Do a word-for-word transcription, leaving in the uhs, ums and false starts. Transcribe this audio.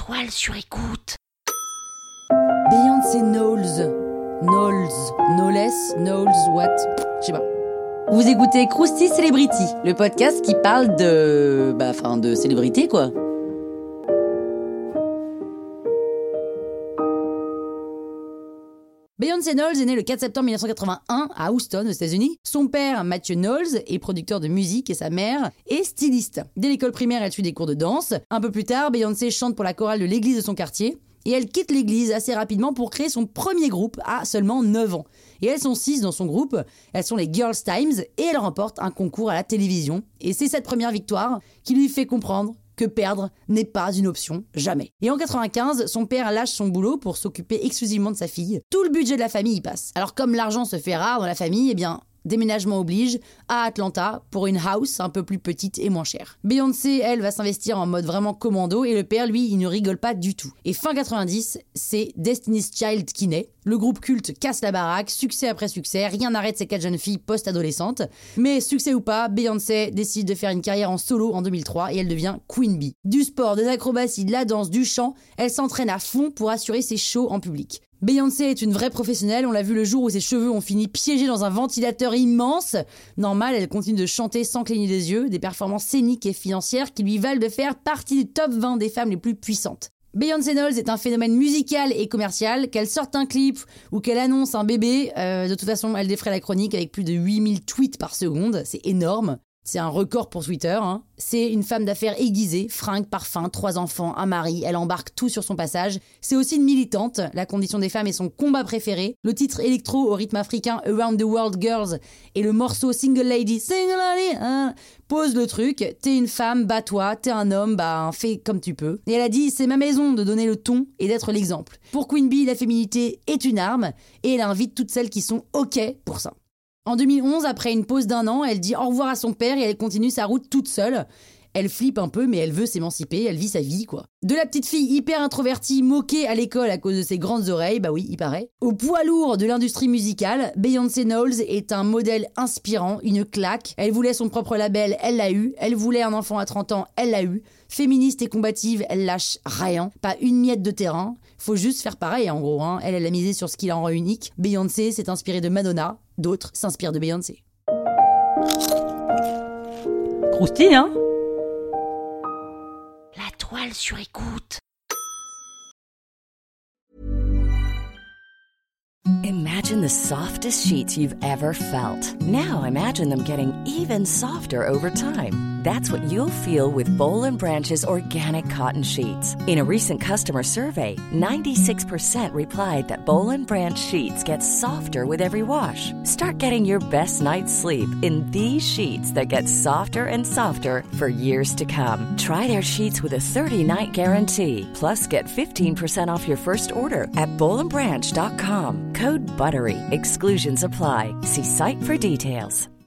toile sur écoute. Beyoncé Knowles. Knowles. Knowless. Knowles. What? Je sais pas. Vous écoutez Krusty Celebrity, le podcast qui parle de... Bah, enfin, de célébrité, quoi. Beyoncé Knowles est née le quatre septembre mille neuf cent quatre-vingt-un à Houston, aux États-Unis. Son père, Matthew Knowles, est producteur de musique et sa mère est styliste. Dès l'école primaire, elle suit des cours de danse. Un peu plus tard, Beyoncé chante pour la chorale de l'église de son quartier. Et elle quitte l'église assez rapidement pour créer son premier groupe à seulement neuf ans. Et elles sont six dans son groupe, elles sont les Girls Times et elle remporte un concours à la télévision. Et c'est cette première victoire qui lui fait comprendre que perdre n'est pas une option, jamais. Et en quatre-vingt-quinze, son père lâche son boulot pour s'occuper exclusivement de sa fille. Tout le budget de la famille y passe. Alors comme l'argent se fait rare dans la famille, eh bien... déménagement oblige à Atlanta pour une house un peu plus petite et moins chère. Beyoncé, elle, va s'investir en mode vraiment commando et le père, lui, il ne rigole pas du tout. Et fin quatre-vingt-dix, c'est Destiny's Child qui naît. Le groupe culte casse la baraque, succès après succès, rien n'arrête ces quatre jeunes filles post-adolescentes. Mais succès ou pas, Beyoncé décide de faire une carrière en solo en deux mille trois et elle devient Queen Bee. Du sport, des acrobaties, de la danse, du chant, elle s'entraîne à fond pour assurer ses shows en public. Beyoncé est une vraie professionnelle, on l'a vu le jour où ses cheveux ont fini piégés dans un ventilateur immense. Normal, elle continue de chanter sans cligner des yeux, des performances scéniques et financières qui lui valent de faire partie du top vingt des femmes les plus puissantes. Beyoncé Knowles est un phénomène musical et commercial, qu'elle sorte un clip ou qu'elle annonce un bébé, euh, de toute façon elle défraie la chronique avec plus de huit mille tweets par seconde, c'est énorme. C'est un record pour Twitter, hein. C'est une femme d'affaires aiguisée, fringues, parfums, trois enfants, un mari, elle embarque tout sur son passage. C'est aussi une militante, la condition des femmes est son combat préféré. Le titre électro au rythme africain Around the World Girls et le morceau Single Lady, Single Lady, hein, pose le truc. T'es une femme, bats-toi, t'es un homme, bah fais comme tu peux. Et elle a dit, c'est ma maison de donner le ton et d'être l'exemple. Pour Queen Bee, la féminité est une arme et elle invite toutes celles qui sont OK pour ça. En deux mille onze, après une pause d'un an, elle dit au revoir à son père et elle continue sa route toute seule. Elle flippe un peu, mais elle veut s'émanciper, elle vit sa vie, quoi. De la petite fille hyper introvertie, moquée à l'école à cause de ses grandes oreilles, bah oui, il paraît, au poids lourd de l'industrie musicale, Beyoncé Knowles est un modèle inspirant, une claque. Elle voulait son propre label, elle l'a eu. Elle voulait un enfant à trente ans, elle l'a eu. Féministe et combative, elle lâche rien, pas une miette de terrain. Faut juste faire pareil, en gros, hein. Elle, elle a misé sur ce qui la rend unique. Beyoncé s'est inspirée de Madonna, d'autres s'inspirent de Beyoncé. Croustille, hein? La toile sur écoute. Imagine the softest sheets you've ever felt. Now imagine them getting even softer over time. That's what you'll feel with Boll and Branch's organic cotton sheets. In a recent customer survey, ninety-six percent replied that Boll and Branch sheets get softer with every wash. Start getting your best night's sleep in these sheets that get softer and softer for years to come. Try their sheets with a thirty-night guarantee. Plus, get fifteen percent off your first order at boll and branch dot com. Code BUTTERY. Exclusions apply. See site for details.